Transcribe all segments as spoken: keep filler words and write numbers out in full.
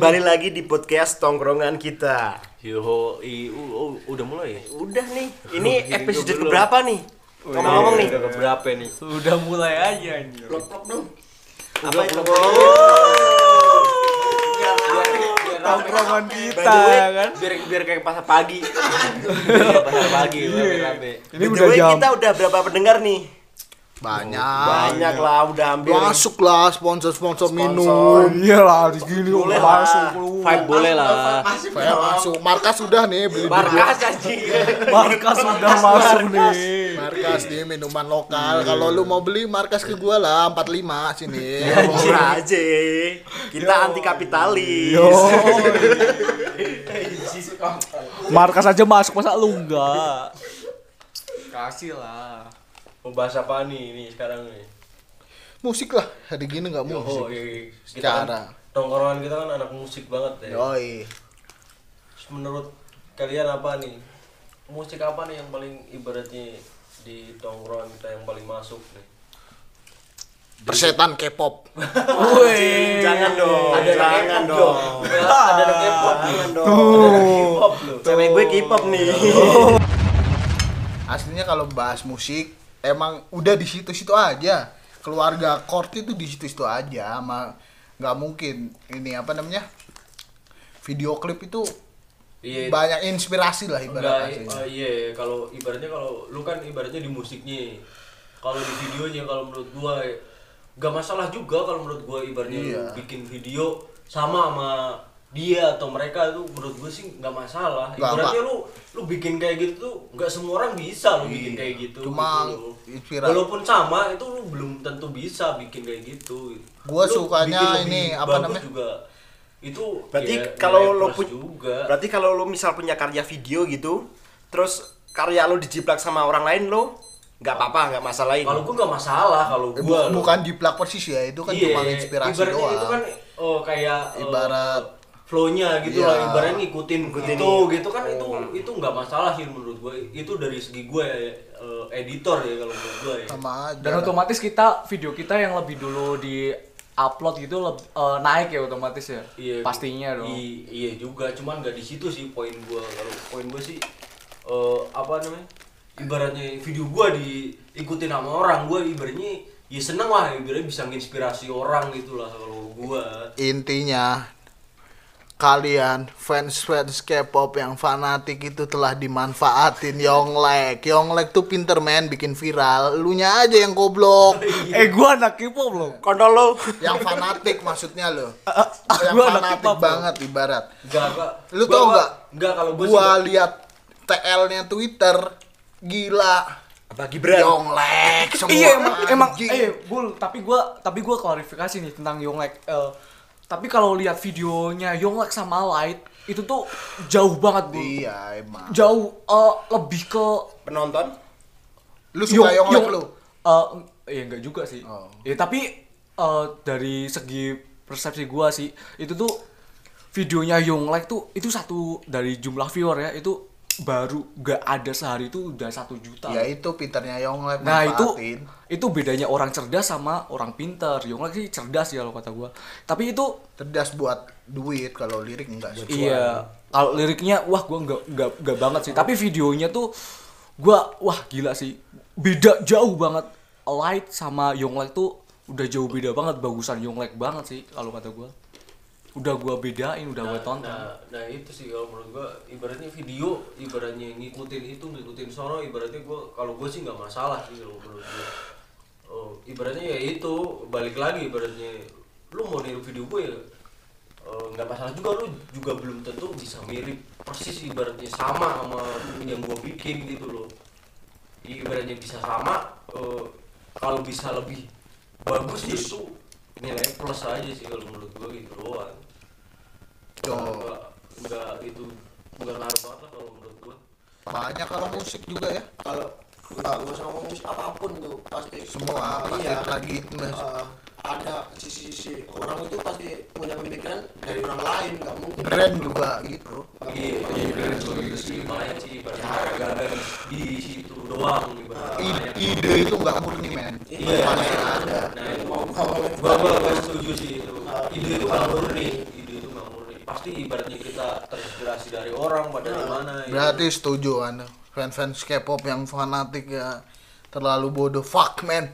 Kembali lagi di podcast tongkrongan kita. Yo, i, u, u, udah mulai ya? Udah nih. Ini episode keberapa nih? Ngomong-ngomong nih. Udah keberapa nih? Sudah mulai aja anjir. Plok-plok dong. Apa itu? Tongkrongan By kita the way, kan. Biar biar kayak pasar pagi. Biar pasar pagi, rame-rame. Ini By the udah way, jam. kita udah berapa pendengar nih? Banyak. Banyak lah, udah hampir. Masuk lah sponsor-sponsor Sponsor. minum. Iyalah di sini Boleh udah lah. masuk lu. Vibe boleh lah. Saya masuk. Markas sudah nih beli di Markas anjing. Markas sudah masuk nih. Markas nih minuman lokal. Kalau lu mau beli markas ke gua lah empat puluh lima sini. Murah aja. Kita anti kapitalis. Yo. Markas aja masuk masa lu enggak? Kasih lah. Mau bahas apa nih ini sekarang nih? Musik lah. Hari gini enggak Oh, musik. iya. Kita Secara. kan, tongkrongan kita kan anak musik banget ya. Yoi. Terus menurut kalian apa nih? Musik apa nih yang paling ibaratnya di tongkrongan kita yang paling masuk nih? Persetan K-pop. Woi. Jangan dong. Ada anak jangan K-pop dong. Ada anak K-pop nih. Jangan Ada dong. anak K-pop loh. Cewek gue K-pop nih. Aslinya kalau bahas musik emang udah di situ-situ aja. Keluarga Court itu di situ-situ aja, sama nggak mungkin ini apa namanya? Video klip itu Iya. banyak inspirasi lah Enggak, ibaratnya. uh, iya, kalau ibaratnya kalau lu kan ibaratnya di musiknya. Kalau di videonya kalau menurut gua enggak masalah juga kalau menurut gua ibaratnya Iya. lu bikin video sama sama dia atau mereka itu menurut gua sih enggak masalah. Nggak, Ibaratnya nggak. lu lu bikin kayak gitu tuh enggak semua orang bisa lu bikin Iya. kayak gitu. Cuma gitu loh. inspirasi. Walaupun sama itu lu belum tentu bisa bikin kayak gitu. Gua Lu sukanya bikin lebih ini, apa bagus namanya? juga. Itu Berarti ya, kalau nilai lo plus punya juga. Berarti kalau lo misal punya karya video gitu, terus karya lo dijiplak sama orang lain lo nggak apa-apa, nggak masalahin. Kalau gua nggak masalah kalau Eh, gua bu- bukan di plak persis ya, itu kan Iya, cuma inspirasi ibaratnya doang. itu kan oh kayak eh, Ibarat flow-nya gitu Iya. lah, ibaratnya ngikutin Ngikutin itu ini. gitu kan itu itu nggak masalah sih menurut gua. Itu dari segi gua ya, eh, editor ya kalau menurut gua ya. sama aja. Dan otomatis kita video kita yang lebih dulu di upload gitu leb- eh, naik ya otomatis ya. Iya, Pastinya dong. i- iya juga, cuman nggak di situ sih poin gua. Kalau poin gua sih eh, apa namanya? Ibaratnya video gua diikutin sama orang, gua ibaratnya ya seneng lah, ibaratnya bisa nginspirasi orang gitu lah kalau gua. Intinya kalian fans-fans K-pop yang fanatik itu telah dimanfaatin Yonglek. Yonglek tuh pinter men bikin viral. Elunya aja yang goblok. Eh gua anak K-pop loh. kontol lo. Yang fanatik maksudnya lo. Yang Gua anak fanatik K-pop, banget ibarat. Enggak, enggak. Lu Gua- tau gua- nggak? Enggak kalau gua, Gua sih- lihat T L-nya Twitter gila. Apa Gibran? Yonglek semua. Iya emang emang anjing. eh Bul, tapi gua tapi gua klarifikasi nih tentang Yonglek. Eh, tapi kalau lihat videonya Yonglek sama Light itu tuh jauh banget, Bul. Iya emang. Jauh eh, lebih ke Penonton? Lu suka Yong- Yonglek Yong- lu? Eh, iya enggak juga sih. Oh. Ya tapi eh, dari segi persepsi gua sih itu tuh videonya Yonglek tuh itu satu dari jumlah viewer ya itu baru gak ada sehari itu udah satu juta. Ya itu pinternya Yonglek Nah itu manfaatin. itu bedanya orang cerdas sama orang pintar. Yonglek sih cerdas ya kalau kata gua. Tapi itu Cerdas buat duit, kalau lirik enggak sih. iya kalau liriknya wah gua nggak nggak nggak banget sih. Tapi videonya tuh gua wah gila sih. Beda jauh banget. Light sama Yonglek tuh udah jauh beda banget. Bagusan Yonglek banget sih kalau kata gua. Udah gua bedain, udah gua tonton. Nah, nah itu sih kalau menurut gua ibaratnya video ibaratnya ngikutin itu ngikutin sono ibaratnya gua kalau gua sih nggak masalah sih kalau menurut gua. Oh, ibaratnya ya itu balik lagi ibaratnya lu mau niru video gua ya eh, nggak masalah juga, lu juga belum tentu bisa mirip persis ibaratnya sama sama yang gua bikin gitu loh. Ibaratnya bisa sama eh, kalau bisa lebih bagus ya itu nilai plus aja sih kalau menurut gua gitu doang. Tuh. Enggak, enggak itu enggak ngaruh banget lah kalau menurut gua. Banyak kalau musik juga ya. Kalau nggak nggak usah ngomong musik apapun tuh pasti Semua pasti iya, lagi eh, ada sisi-sisi orang itu pasti punya pemikiran dari orang lain, nggak mungkin. brand juga gitu. Iya, iya benar juga sih, makanya sih ibaratnya harga di, di situ doang ibaratnya. I- ide itu nggak murni men. Iya, Pasti ada. Nah, itu Mau ngomong gua gua gua setuju sih itu. Ide itu nggak murni, ide itu nggak murni. pasti ibaratnya kita terinspirasi dari orang pada gimana ya. Berarti setuju anda fans-fans K-pop yang fanatik ya terlalu bodoh. Fuck man.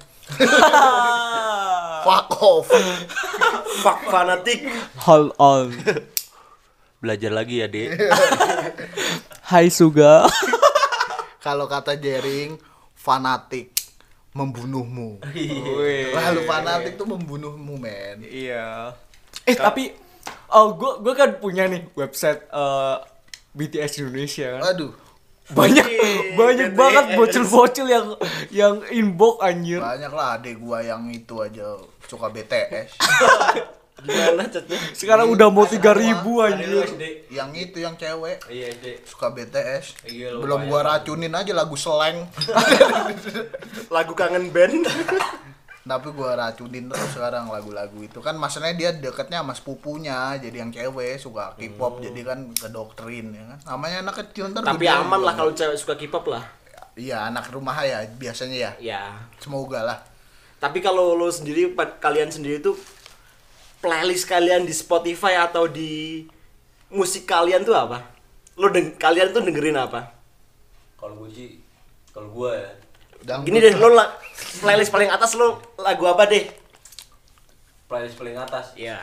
Fuck off. Fuck fanatik. Hold on. Belajar lagi ya, Dek. Hai Suga. Kalau kata Jering, fanatik membunuhmu. Wih. Lalu fanatik tuh membunuhmu, men. Iya. Eh tapi oh gua gua kan punya nih website eh, B T S Indonesia kan. Aduh, Banyak Wih, banyak B T S. banget bocil-bocil yang yang inbox anjir. banyak lah adek gua yang itu aja suka B T S. Gimana chatnya? Sekarang udah mau tiga ribu Ada lu anjir. S D. Yang itu yang cewek Iya, S D. suka B T S. Iya, lu Belum bayang. gua racunin aja lagu slang. Lagu kangen band. Tapi gua racunin terus sekarang lagu-lagu itu kan maksudnya dia deketnya sama sepupunya jadi yang cewek suka K-pop jadi kan kedoktrin ya kan namanya anak kecil ntar Tapi gede aman lah juga. kalau cewek suka K-pop lah. Iya anak rumah ya biasanya ya Ya. semoga lah. Tapi kalau lo sendiri pa- kalian sendiri tuh playlist kalian di Spotify atau di musik kalian tuh apa? Lo deng- kalian tuh dengerin apa? Kalau gue sih, kalau gue ya, Dangdut. Gini deh, lo la- playlist paling atas lo lagu apa deh? playlist paling atas Ya.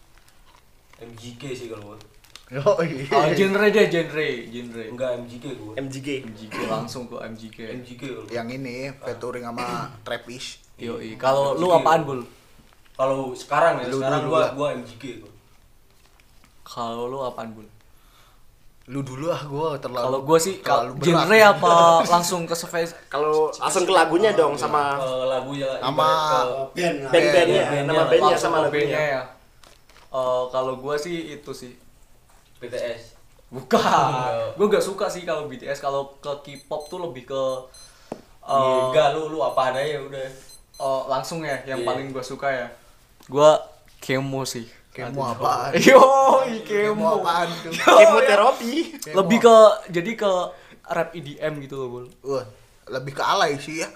M G K sih kalau gue. Oh, iya. Oh, genre deh, genre, genre. Enggak M G K gue. M G G. M G K langsung ke M G K. M G K kalau gue. Yang ini featuring sama Travis. Yoi. Kalau lu apaan, Bul? Kalau sekarang ya, Lu sekarang dulu gua lah. gua M G K gua. Kalau lu apaan, Bul? Lu dulu ah gua terlalu Kalau gua sih terlalu kal- genre apa langsung ke surface? Kalau langsung ke lagunya dong sama Kalau lagunya Sama- ibarat ke band lah. band-bandnya, bandnya, nama bandnya Langsung sama ke lagunya. bandnya ya. Eh, kalau gua sih itu sih. B T S. Bukan. Gua gak suka sih kalau B T S. Kalau ke K-pop tuh lebih ke Iya, eh, enggak lu lu apa adanya udah. eh, langsung ya yang Iya. paling gua suka ya. Gua Kemo sih. Kemo apaan? Yo, Kemo Kemo. apaan tuh? Kemoterapi. Lebih ke jadi ke rap E D M gitu loh, Bul. Wah, lebih ke alay sih ya.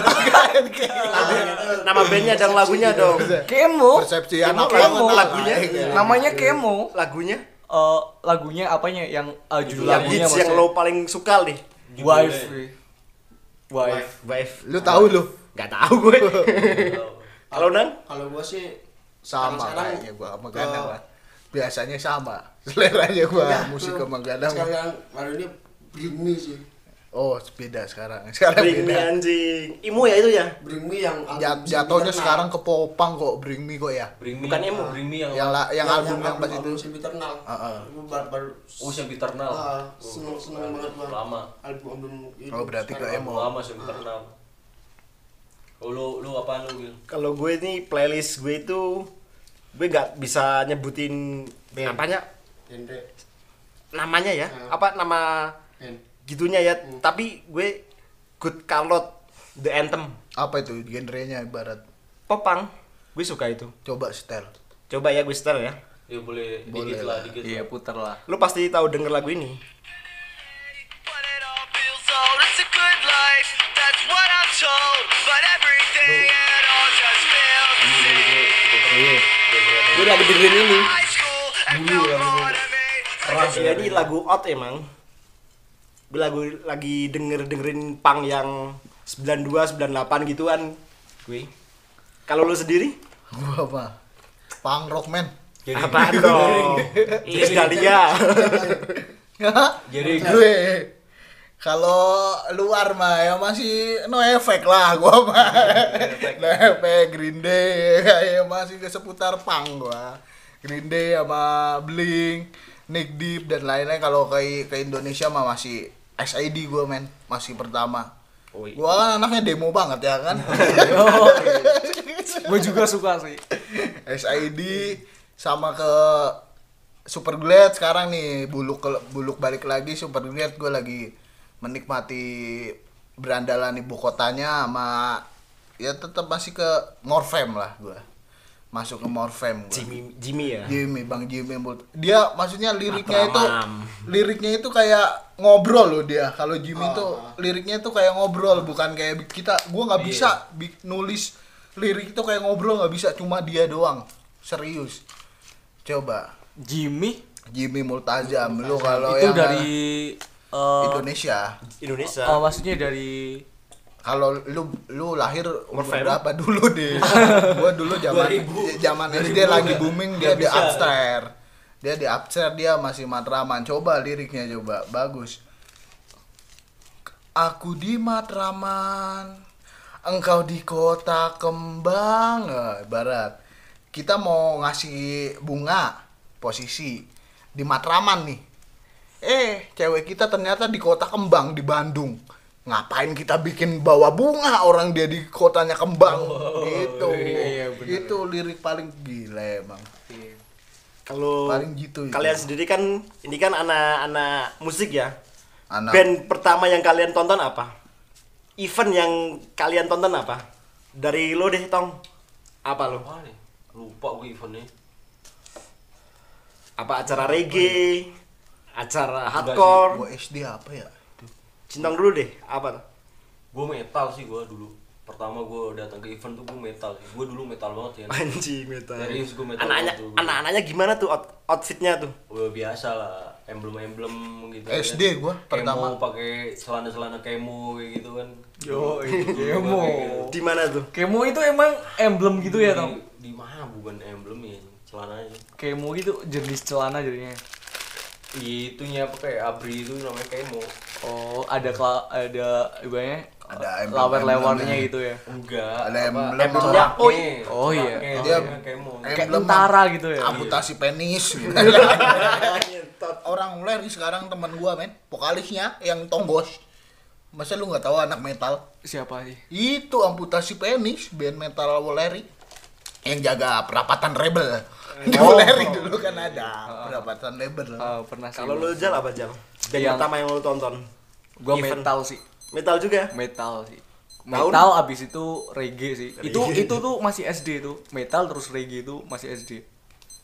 Nama bandnya dong, lagunya dong. Kemo. Persepsi Kemo, anak Kemo, banget. lagunya. Namanya Kemo. Lagunya Eh, lagunya apanya? Yang eh, judul yang lagunya hits yang lo paling suka nih. Wife. Wife. Wife. Lu tahu lu? Gak tahu gue. Kalau Nan? Kalau gua sih Sama sekarang- kayaknya gua sama ke- Gadang lah. Biasanya sama. Seleranya gua Enggak, musik ke- sama Gadang. Sekarang baru ini Bring Me sih. Oh, beda sekarang. Sekarang Bring me beda. anjing. Imo ya itu ya? Bring Me yang Jat- album jatuhnya Sempiternal. sekarang ke popang kok, Bring Me kok ya. Bring Me. Bukan emo. Bring Me yang Yang la- yang album yang pas itu. album Sempiternal. Heeh. Gua baru baru Oh, Sempiternal. Ah, seneng seneng banget gua. Lama. Album album itu. Oh, berarti ke sekarang. emo. Lama Sempiternal. Oh, lu lu apaan lu, Gil? Kalau gue nih playlist gue itu gue nggak bisa nyebutin Band. apanya Genre namanya ya Hmm. apa nama band. gitunya ya tapi gue Good Charlotte The Anthem Apa itu genrenya ibarat? popang gue suka itu Coba setel. coba ya gue setel ya Ya boleh, Boleh dikit lah. lah, dikit. Iya, lah. puter lah. lu pasti tahu denger lagu ini But it all feels old, it's a good life, that's what I'm told. But everything it all just feels the same. gue lagi dengerin ini High school, and no more to me. keras ya ini lagu out emang gue lagu lagi denger dengerin pang yang sembilan dua sembilan delapan gitu kan gue kalau lu sendiri Gua apa? Punk rock man. apaan dong Iis Dahlia Jadi gue kalau luar mah ya masih no efek lah gua mah. No efek Green Day ya masih ke seputar punk gua. Green Day sama Blink, Nick Deep dan lain-lain kalau ke ke Indonesia mah masih S I D gua men, masih pertama. Oh, iya. Gua kan anaknya demo banget ya kan. Gue juga suka sih. S I D sama ke Super Glad sekarang nih buluk ke, buluk balik lagi Super Glad gue lagi menikmati berandalan ibu kotanya sama ya tetap masih ke Morfem lah gue masuk ke Morfem gua. Jimmy Jimmy ya Jimmy Bang Jimmy Mul- dia maksudnya liriknya itu Abraham. liriknya itu kayak ngobrol loh dia kalau Jimmy tuh liriknya itu kayak ngobrol bukan kayak kita gua nggak bisa bi- nulis lirik itu kayak ngobrol nggak bisa cuma dia doang serius coba Jimmy Jimmy Multazam. Lu kalau Itu yang dari eh, Indonesia. Indonesia. oh, maksudnya dari Kalau lu lu lahir umur Fem. berapa dulu deh? Gua dulu zaman zaman S D lagi booming dia di upstairs. Dia di upstairs dia masih Matraman. Coba liriknya coba, bagus. Aku di Matraman, engkau di kota kembang. Eh, Barat. Kita mau ngasih bunga posisi di Matraman nih. Eh, cewek kita ternyata di kota kembang di Bandung. Ngapain kita bikin bawa bunga orang dia di kotanya kembang gitu. iya, bener. Itu lirik paling gila emang. Kalau Paling gitu itu. kalian sendiri kan ini kan anak-anak musik ya. Anak Band pertama yang kalian tonton apa? Event yang kalian tonton apa? Dari lo deh, Tong. Apa lo? Apa nih? Lupa gue eventnya. Apa acara reggae? Acara gua hardcore? S D apa ya? Cintong dulu deh, apa tuh? Gue metal sih gue dulu. Pertama gue datang ke event tuh gue metal sih. Gue dulu metal banget ya. Anjing metal. Serius gue metal. Anak-anak banget tuh. anak-anaknya gimana tuh out- outfitnya tuh? Udah biasa lah, emblem-emblem gitu. S D gua pertama. Kemo pakai celana-celana kemo kayak gitu kan. Yo, Dulu kemo. gua kayak gitu. Di mana tuh? Kemo itu emang emblem gitu ya, Tong? Di, di mana bukan emblem ya, celananya. Kemo gitu jenis celana jadinya. Itunya apa kayak abri itu namanya kemo. Oh, ada kela- ada ibaratnya Ada emblem- lawer-lewarnya emblemnya. gitu ya. Enggak. Ada apa, emblem coraknya. apa? Oh, iya. Coraknya, Dia namanya kemo. Kayak emblem tentara gitu ya. amputasi penis. Orang mulai sekarang teman gua men, vokalisnya yang Tonggos. Masa lu nggak tahu anak metal? Siapa sih? Itu amputasi penis, band metal Woleri yang jaga perapatan rebel. Di Woleri dulu kan ada perapatan rebel. Oh, pernah sih. Kalau lo Jal apa Jal? Band Yang- pertama yang lo tonton? gua event. metal sih. Metal juga? Metal sih. Tahun? Metal abis itu reggae sih. Itu itu tuh masih S D tuh. Metal terus reggae itu masih S D.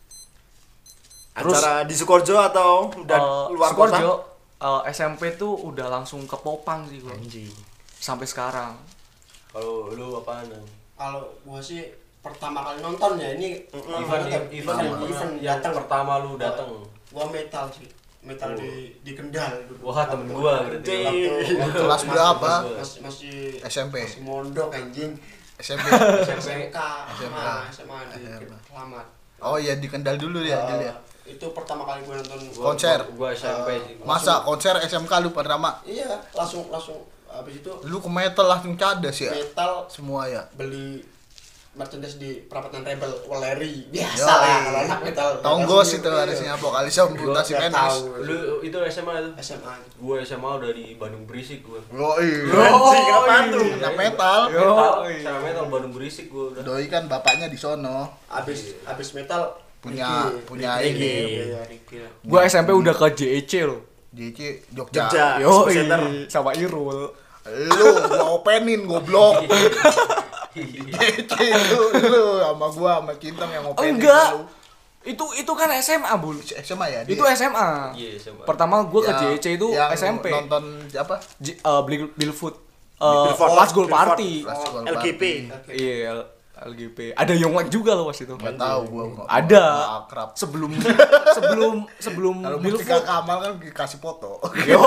Terus- Acara di Sukoharjo atau udah Eh, luar Sukoharjo, kota? eh, S M P tuh udah langsung ke Popang sih gua. Anjing. Sampai sekarang. Kalau lu apaan? Nang? Kalau gua sih pertama kali nonton ya ini Event event event event, event event yang datang pertama lu datang. gua metal sih metal Oh. di di Kendal dulu. Wah, temen gua berarti. Waktu- waktu Kelas masih- berapa? masih masih S M P. masih mondok anjing. S M P. S M K S M K. ah, S M A di Selamat. Oh iya di Kendal dulu ya, Jal ya. Itu pertama kali gua nonton Gua- Konser. Gua, gua S M P sih. Masa konser S M K lu pertama? Iya, langsung langsung habis itu Lu ke metal langsung cadas ya? metal Semua ya. beli merchandise di perapatan Rebel Woleri. Biasa Yoi. lah kalau anak metal. Tonggos metal itu sendiri. harusnya vokalisnya amputasi Gua nggak penis. tahu. Lu itu S M A tuh? S M A. Gua S M A udah di Bandung Berisik gua. Yoi. Anjing, kenapaan tuh? Anak metal. Metal, secara metal Bandung Berisik gua udah. Doi kan bapaknya di sono. Abis abis metal Punya reggae. punya Reggae. ini. Iya, reggae. Gua S M P udah ke J E C loh. J C Jogja. Jogja. Yo, Expo Center. sama Irul. Lu gua openin goblok. J C lu lu sama gua sama Kintong yang openin. Enggak. lu. Itu itu kan S M A, Bul. S M A ya? Itu S M A. Iya, S M A. Pertama gua ke J Yang- E C itu yang S M P. Nonton apa? J- eh, Bill Billfoot. Eh, Billboard. Last Goal Billboard. Party. Last Goal L G P. Party. Iya, L- LGP. Ada Yonglek juga loh pas itu. Nggak tahu gua. nggak- Ada. nggak akrab. Sebelum sebelum sebelum Kalau Mustika Billfoot. Kamal kan dikasih foto. Yo.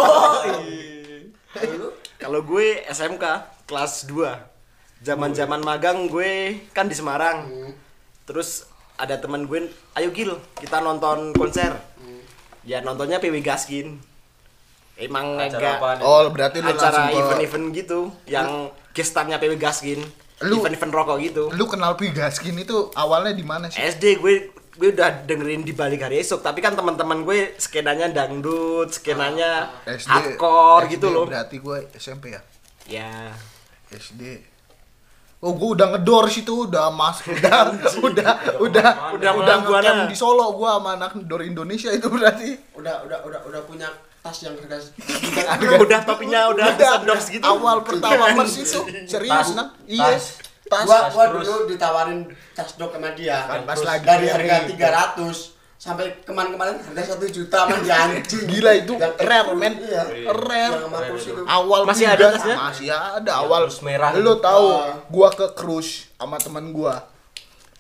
Kalau gue S M K kelas dua. Zaman-zaman magang gue kan di Semarang. Terus ada teman gue, ayo Gil, kita nonton konser. Ya nontonnya P W Gaskin. Emang Acara agak apaan itu? Oh, berarti lu acara langsung ke- event-event gitu yang gestarnya P W Gaskin. Lu- Event-event rokok gitu. Lu kenal Pigaskin itu awalnya di mana sih? S D gue gue udah dengerin di balik hari esok, tapi kan teman-teman gue skenanya dangdut, skenanya S D, hardcore S D gitu loh. Berarti gue S M P ya? Ya. S D. Oh, gue udah ngedor situ, udah mas, udah, udah, udah, udah, Udah udah melakukan ngecamp apa? di Solo, gue sama anak Dor Indonesia itu berarti. Udah udah udah udah punya tas yang harga Udah topinya udah sandbox gitu. Awal pertama mers itu serius Tas. nah, iya. Tas. Tas. gua gua terus. dulu ditawarin tas dok sama dia Kan pas Terus lagi dari nyari. harga tiga ratus sampai kemarin-kemarin harga satu juta man anjing. Gila itu Yang rare men, iya. rare. Yang sama terus itu. Awal Masih Pigas, ada tasnya? Masih ada awal. terus merah. Lu tahu, Ah. gua ke cruise sama teman gua.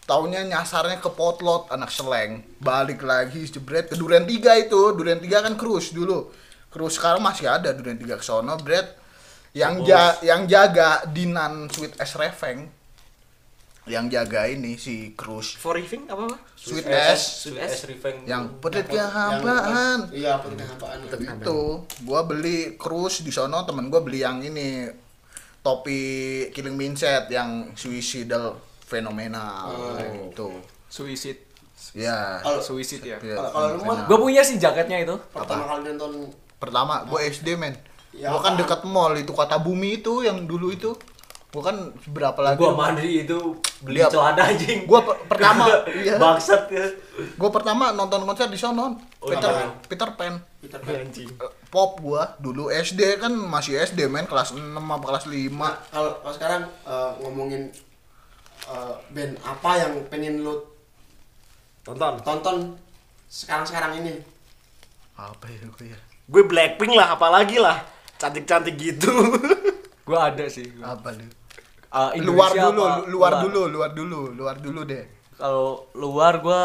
taunya nyasarnya ke Potlot anak Seleng, balik lagi jebret ke Duren tiga itu. Duren tiga kan cruise dulu. Cruise sekarang masih ada Duren tiga ke sono, bret. Yang ja, yang jaga Dinan Sweet S Reveng. Yang jaga ini si Cruise. For living apa apa? Sweet S Sweet S Reveng. yang pedit kehampaan. Iya, pedit kehampaan. Itu gua beli Cruise di sono, temen gua beli yang ini topi Killing Mindset yang suicidal fenomenal gitu. Suicide. Ya. Kalau Suicide ya. ya, kalau kalau lu mah Gue punya sih jaketnya itu. pertama kali nonton pertama gua S D men. Ya, Gua kan apaan? dekat mall itu Kata Bumi itu yang dulu itu. Gua kan berapa lagi? Gua mandiri itu beli Dia- celana anjing. Gua per- pertama iya. Bangsat ya. Gua pertama nonton konser di sono. Oh, Peter iya. Peter Pan. Peter Pan. Anjing. Eh, Pop gua dulu S D kan masih S D men kelas enam apa kelas lima. Nah, kalau kalau sekarang eh, ngomongin eh, band apa yang pengen lu Tonton. tonton sekarang-sekarang ini? Apa ya gua ya? Gue Blackpink lah, apalagi lah. Cantik-cantik gitu. Gue ada sih. Gua. Apa lu? Uh, Luar Indonesia dulu, apa? lu- luar dulu, luar dulu, luar dulu deh. Kalau luar gue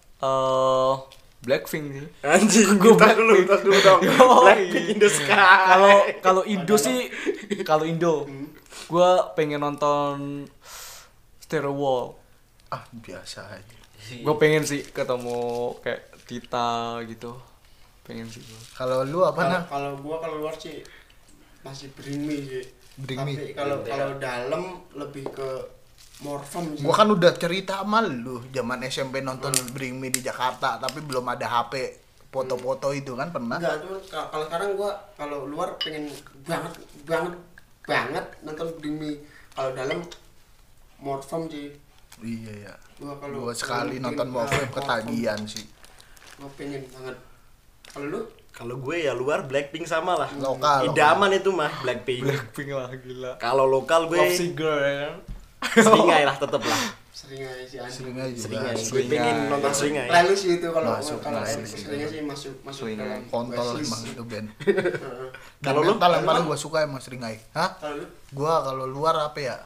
uh, Blackpink sih. Anjing, Gua gue tas dulu, tas dulu dong. Yoi. Blackpink in the sky. Kalau kalau Indo sih, kalau Indo, gue pengen nonton Stereo Wall. Ah, biasa aja. Gue pengen sih ketemu kayak Tita gitu. Pengen sih gue. Kalau lu apa Kalau nah? kalau gua kalau luar sih masih Bring Me sih. Bring Tapi Me. kalau kalau dalam lebih ke Morphem sih. Gua kan udah cerita sama lu zaman S M P nonton Bring Me di Jakarta, tapi belum ada H P foto-foto itu kan pernah. Enggak, cuma ka- kalau sekarang gua kalau luar pengen banget banget banget nonton Bring Me. Kalau dalam Morphem sih. Iya ya. Gua kalau Gua sekali kalau nonton bikin, Morphem ah, ketagihan sih. Gua pengen banget. Kalau lu? Kalau gue ya luar Blackpink sama lah. Lokal, Idaman itu mah Blackpink. Blackpink lah gila. Kalau lokal gue Love Singer ya kan. seringai lah tetep lah. Sering aja sih anjing. Sering aja juga. Seringai. Gue Seringai. pengen nonton seringai. Playlist sih itu kalau Masuk, kalau masuk. seringnya sih masuk masuk Seringai. dalam Kontol playlist. emang itu band. Heeh. Kalau Band lu? metal yang Kalau paling lu? gua suka emang Seringai. Hah? Kalau lu? Gua kalau luar apa ya?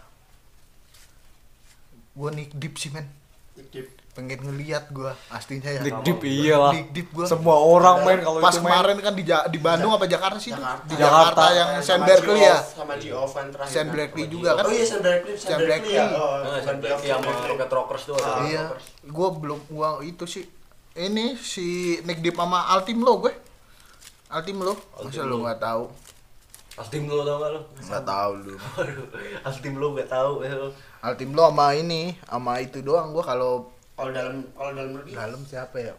Gua Nick Deep sih men. Dip. Pengen ngeliat gua aslinya ya. Nick Deep iyalah. Nick Deep gua. Semua orang main kalau Pas itu main. kemarin kan di, Ja- di Bandung apa Jakarta sih itu? Jakarta. Di Jakarta, yang Sama Sam Berkeley ya. G-Off, sama G-Off kan terakhir. Sam kan. Berkeley Sama juga kan. Oh iya Sam Berkeley, Sam Sam Berkeley ya. Berkeley. Oh, Nah, Sam Sam Berkeley sama Rocket Rockers tuh ada. Iya. Rockers. Gua belum gua itu sih. Ini si Nick Deep sama Altim lo gue. Altim lo. Masa lu enggak tahu? Altim lo tau gak lo? Enggak tahu lu. Waduh, Altim lo gak tau ya lo. Altim lo sama ini, sama itu doang gua kalau Kalau dalam kalau dalam negeri dalam siapa ya?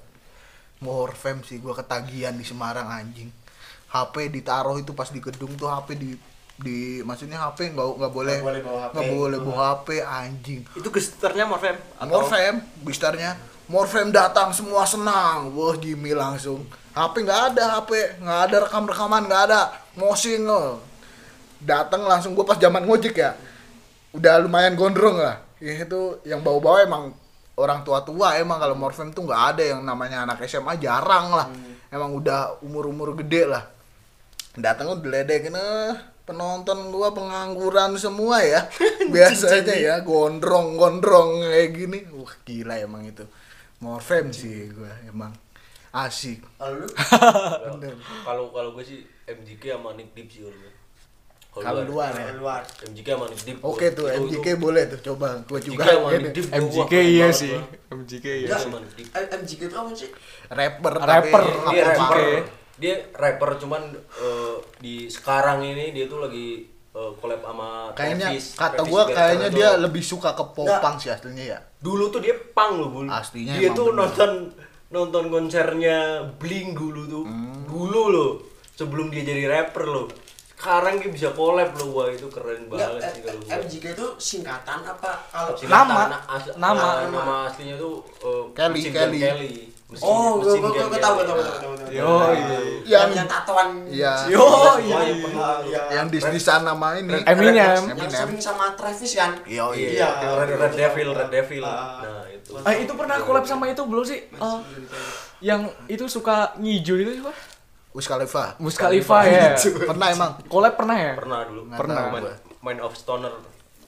Morfem sih gua ketagihan di Semarang anjing. H P ditaruh itu pas di gedung tuh H P di di maksudnya H P nggak nggak boleh Nggak boleh bawa H P. nggak boleh bawa H P anjing. Itu gesternya Morfem atau Morfem, bistarnya Morfem datang semua senang, wah Jimmy langsung. H P nggak ada, H P nggak ada rekam rekaman nggak ada, mosing loh. Datang langsung gua pas zaman ngojek ya, udah lumayan gondrong lah. Ya, itu yang bawa-bawa emang orang tua-tua emang kalau Morfem tuh nggak ada yang namanya anak S M A jarang lah. Emang udah umur-umur gede lah. Datang udah diledekin eh penonton gua pengangguran semua ya. Biasanya ya gondrong-gondrong kayak gini. Wah, gila emang itu. Morfem sih gua emang asik. kalau lu Bener. Kalau kalau gue sih M J K sama Nick Deep sih kalau gue. Kalau luar ya. kalau luar M J K sama Nick Deep. Oke tuh Itu- M J K itu- boleh tuh coba gua M J K juga sama ini. Nick Deep. M J K wah, keren iya banget sih. gua. M J K Iya iya. sama Nick Deep. M J K itu apa sih? Rapper Rapper. tapi Dia apa- rapper. Oke. Dia rapper cuman eh, di sekarang ini dia tuh lagi eh, collab sama kayaknya Travis. kata Travis gua Barker kayaknya tuh. dia lebih suka ke popang sih aslinya ya. Dulu tuh dia punk loh, Bul. Aslinya dia emang tuh bener. nonton nonton konsernya Blink dulu tuh. Hmm. Dulu loh, sebelum dia jadi rapper loh. Sekarang dia bisa collab loh, wah itu keren Enggak, banget sih kalau gua. M J K itu singkatan apa kalau Singkatan, Nama. na- as- Nama. na- nama aslinya tuh eh, Kelly, Mesin Kelly. Gun Kelly. Mesin- Oh, gua Mesin gua Gun gua tahu gua Kelly. tahu gua tahu. gua tahu. Yo, iya. Yang yang tatoan. Iya. Yo, iya. Iya, iya. Yang dis-disan nama ini Eminem. Yang Eminem. sering sama Travis kan? Yo, Iya, iya. Iya. Red, Red Devil, Red Devil. Ah. Nah, itu. Ah, itu pernah collab sama itu belum sih? Eh, yang itu suka ngijo itu siapa? Wiz Khalifa. Wiz Khalifa ya. Pernah emang. Collab pernah ya? Pernah dulu. Nggak Pernah. tahu Main, gua. main of Stoner.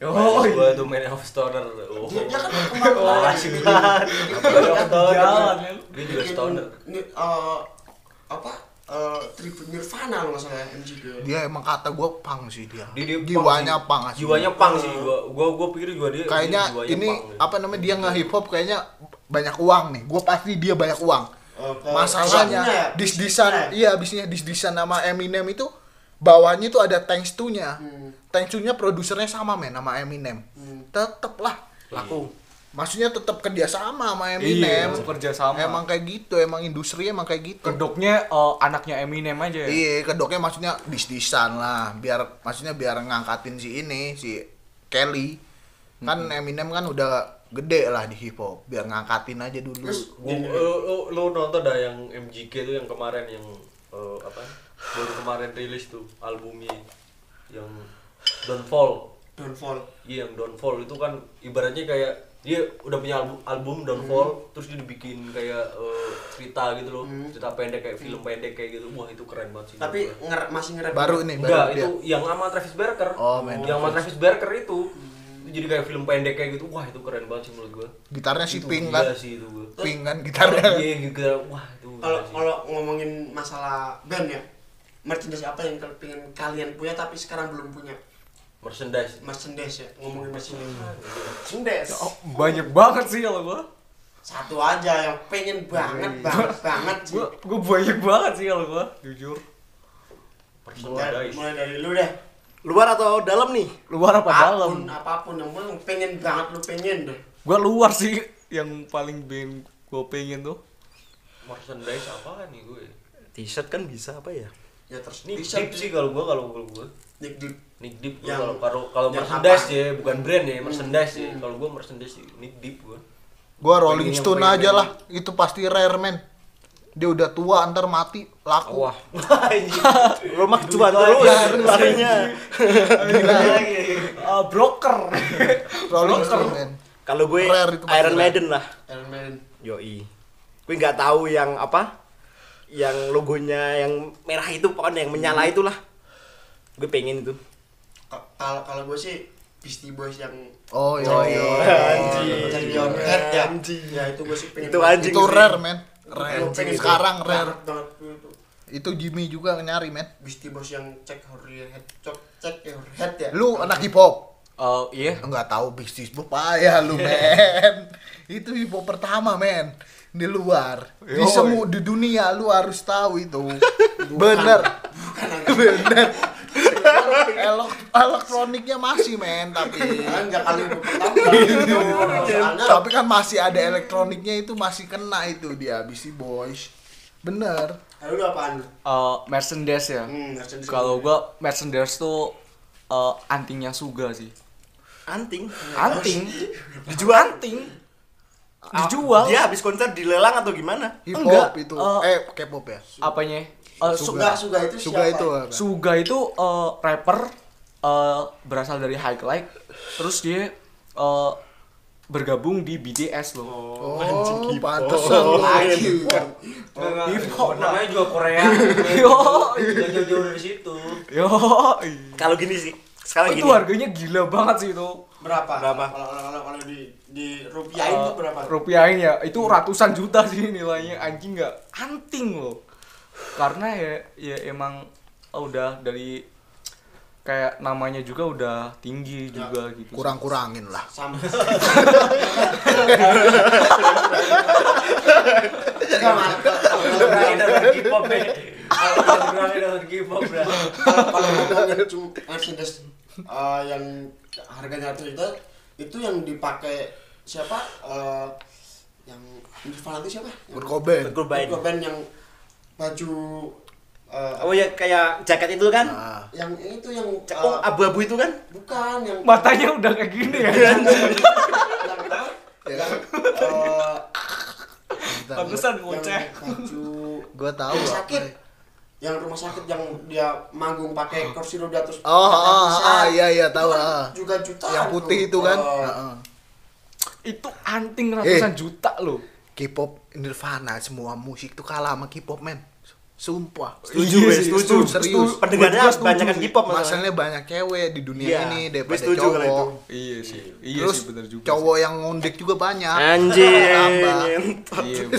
Oh, gua tuh Man of Stoner. Oh. Dia, dia kan kemarin Oh, asik banget. Man of Stoner. Jalan, ya. Dia juga stoner. Ini eh, apa? Uh, tribute Nirvana lo nggak salah ya, M G K. Dia emang kata gue punk sih dia. Dia, dia Jiwanya punk asli. Jiwanya punk sih. Gua gua gua pikir juga dia Kayaknya dia jiwanya ini punk, ya. apa namanya dia nge hip hop kayaknya banyak uang nih. Gue pasti dia banyak uang. Oh, ke- Masalahnya kesannya ya? dis-disan, Eh. iya abisnya dis-disan nama Eminem itu bawahnya itu ada thanks to-nya. Hmm. Thanks to-nya produsernya sama men sama Eminem. Hmm. Tetep lah. Laku. Maksudnya tetap kerja sama sama Eminem. Iya, kerja sama. Emang kayak gitu, emang industri emang kayak gitu. Kedoknya eh, anaknya Eminem aja ya. Iya, kedoknya maksudnya dis-disan lah, biar maksudnya biar ngangkatin si ini si Kelly. Kan Eminem kan udah gede lah di hip hop, biar ngangkatin aja dulu. Terus Gua, lu, lu, lu nonton dah yang M G K tuh yang kemarin yang eh, apa baru kemarin rilis tuh albumnya yang Downfall. Downfall. Iya yang Downfall itu kan ibaratnya kayak dia udah punya album, album Downfall terus dia dibikin kayak eh, cerita gitu loh, cerita pendek kayak film pendek kayak gitu. Wah itu keren banget sih. Tapi menurut gua. nger masih ngerap Baru nih, enggak baru itu dia. yang sama Travis Barker. Oh, main yang sama Travis Barker itu. Itu jadi kayak film pendek kayak gitu. Wah itu keren banget sih menurut gua. Gitarnya si Itu Pink gila kan. sih itu gua. Pink kan gitarnya. Iya gitu. Wah itu. gila Kalau sih. kalau ngomongin masalah band ya, merchandise apa yang kalian pengen kalian punya tapi sekarang belum punya? merchandise Merchandise ya, ngomongin merchandise. Merchandise. Oh, banyak banget sih kalau gua. Satu aja yang pengen banget banget banget sih. Gua gua banyak banget sih kalau gua, jujur. Mulai, merchandise. mulai dari lu deh. Luar atau dalam nih? Luar apa Apapun, dalam? apapun yang penting pengen banget lu pengen deh. Gua luar sih yang paling pengen gua pengen tuh. merchandise apa nih gue? T-shirt kan bisa apa ya? Ya terus Nick t-shirt Deep sih kalau gua kalau kalau gua. Nick Deep. Nick Deep gua Yang- kalau kalau kalau yang merchandise apa? ya, bukan brand ya, Hmm. merchandise ya. Hmm. Kalau gua merchandise sih Nick Deep gua. Gua Rolling Pengen yang Stone pengen- aja lah, itu pasti rare men. Dia udah tua ntar mati laku. Wah. Lo mah cuan terus larinya. Uh, broker. Rolling Stone men. Kalau gue Rare itu pasti Iron rare. Maiden lah. Iron Maiden. Yoi. Gue nggak tahu yang apa, yang logonya yang merah itu pokoknya yang menyala itulah. Gue pengen itu. Ka- Kalau kalau gue sih Beastie Boys yang Oh iya. Check iya. Your- Anjing. Check Your Head ya. Anjing. Ya itu gue sih pengen. Itu banget. anjing Itu sih. rare men. Rare. Gua pengen Sekarang banget rare. banget itu. Itu Jimmy juga nyari men. Beastie Boys yang Check Your Head, Check- Check Your Head ya. Lu anak hip hop. Uh, iya. Enggak tahu bisnis payah lu men. Itu hip hop pertama men. Di luar. Di Yoi. semua di dunia lu harus tahu itu. Bener. Bener. Elok elektroniknya masih men tapi Enggak kali itu pertama. Soalnya tapi kan masih ada elektroniknya itu masih kena itu dia Beastie Boys. Bener. Lalu lu apaan? Uh, merchandise ya. Hmm, merchandise. Kalau gua merchandise tuh uh, antingnya Suga sih. Anting. Anting. Dijual. Anting. Dijual. Dia habis konser dilelang atau gimana? Hip Enggak, hop itu. eh, eh K-pop ya. Apanya? Uh, Suga, Suga itu Suga siapa? itu apa? Suga itu uh, rapper uh, berasal dari Highlight, terus dia uh, bergabung di B T S loh. Oh, anjing hip hop. pantesan lagi. Hip hop lah. Namanya juga Korea. Yo, Nggak jauh-jauh dari situ. yo. Kalau gini sih, sekarang Itu gini. harganya gila banget sih itu. Berapa? Berapa? Kalau kalau kalau, kalau di di rupiahin Uh, tuh berapa? rupiahin ya, itu ratusan juta sih nilainya. Anjing nggak anting loh. Karena ya ya emang oh, udah dari kayak namanya juga udah tinggi juga gitu. Kurang-kurangin lah. Sama. Enggak mantap. Kurangin dalam K-pop ya. Kalau kurangin dalam K-pop dah. Kalau ngomongin cuma Mercedes eh, yang harganya ratus juta itu yang dipakai siapa? Eh, yang Nirvana itu siapa? Kurt Cobain. Kurt Cobain. Kurt Cobain yang baju eh, Oh ya kayak jaket itu kan? Nah, yang itu yang Oh, eh, abu-abu itu kan? bukan yang Matanya udah kayak gini ya. yang apa? Yang eh, bentar, Pantesan yang ngoceh. baju gua tahu rumah apa. sakit. Yang rumah sakit yang dia manggung pakai kursi roda terus Oh, pakai ah, pusat. ah, iya iya tahu Itu kan ah. juga jutaan Yang putih tuh. itu kan. Oh. Heeh. Itu anting ratusan Eh. juta loh. K-pop Nirvana semua musik tuh kalah sama K-pop men. Sumpah. Setuju, Iya gue sih, setuju. setuju, serius. Pendengarnya Gua setuju banyak kan sih. K-pop masalahnya. Masalahnya banyak cewek di dunia Iya, ini gue daripada setuju kalau cowok. itu. Iya sih. Iya Terus sih benar juga. cowok yang ngondek juga banyak. Anjing. Tambah. Iya.